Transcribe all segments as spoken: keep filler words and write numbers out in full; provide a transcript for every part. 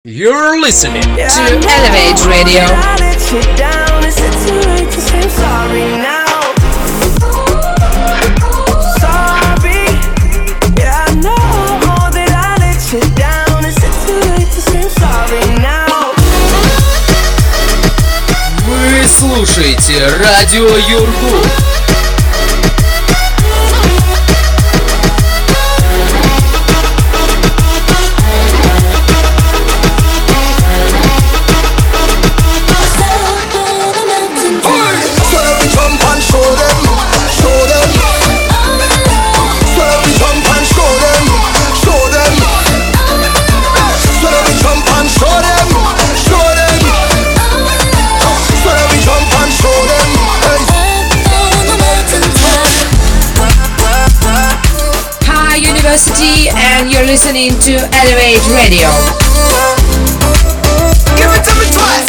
You're listening Yeah, to I know Elevate Radio. that I let you down. Is it too late to say I'm sorry now? Sorry. Yeah, I know that I let you down. Is it too late to say I'm sorry now? Вы слушаете Радио Юргу. And you're listening to Elevate Radio. Give it to me twice.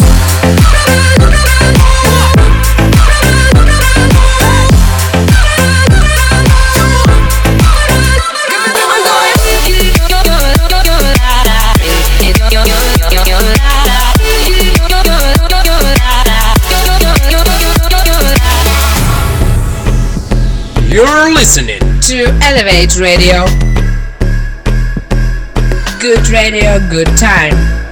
You're listening to Elevate Radio. Good radio, good time.